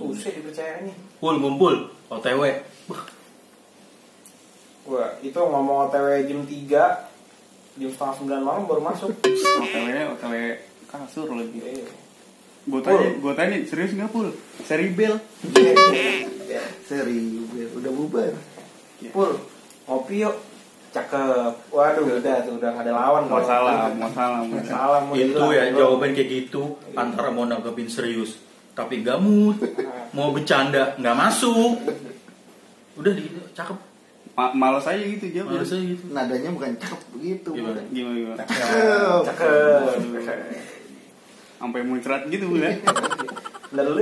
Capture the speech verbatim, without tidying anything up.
Susah dipercayanya. Pul ngumpul O T W. Wah, itu ngomong O T W jam tiga, jam setengah sembilan malam baru masuk. O T W O T W kasur lagi. Iya. Gue tanya, gue tanya serius nggak Pul? Seri bel. Seri udah bubar. Pul, ngopi yuk. Cakep. Waduh, udah tuh udah gak ada lawan. Mau salah, mau salah, mau salah. Mau Itu hilang, ya bro. jawaban kayak gitu antara mau nanggepin serius tapi gak mood, mau bercanda nggak masuk. Udah gitu, cakep. Ma- malas aja gitu jawab. Malas aja gitu. Nadanya bukan cakep begitu. Gimana? Gimana gimana? Cakep. Cakep. Sampai muncrat gitu ya. Lalu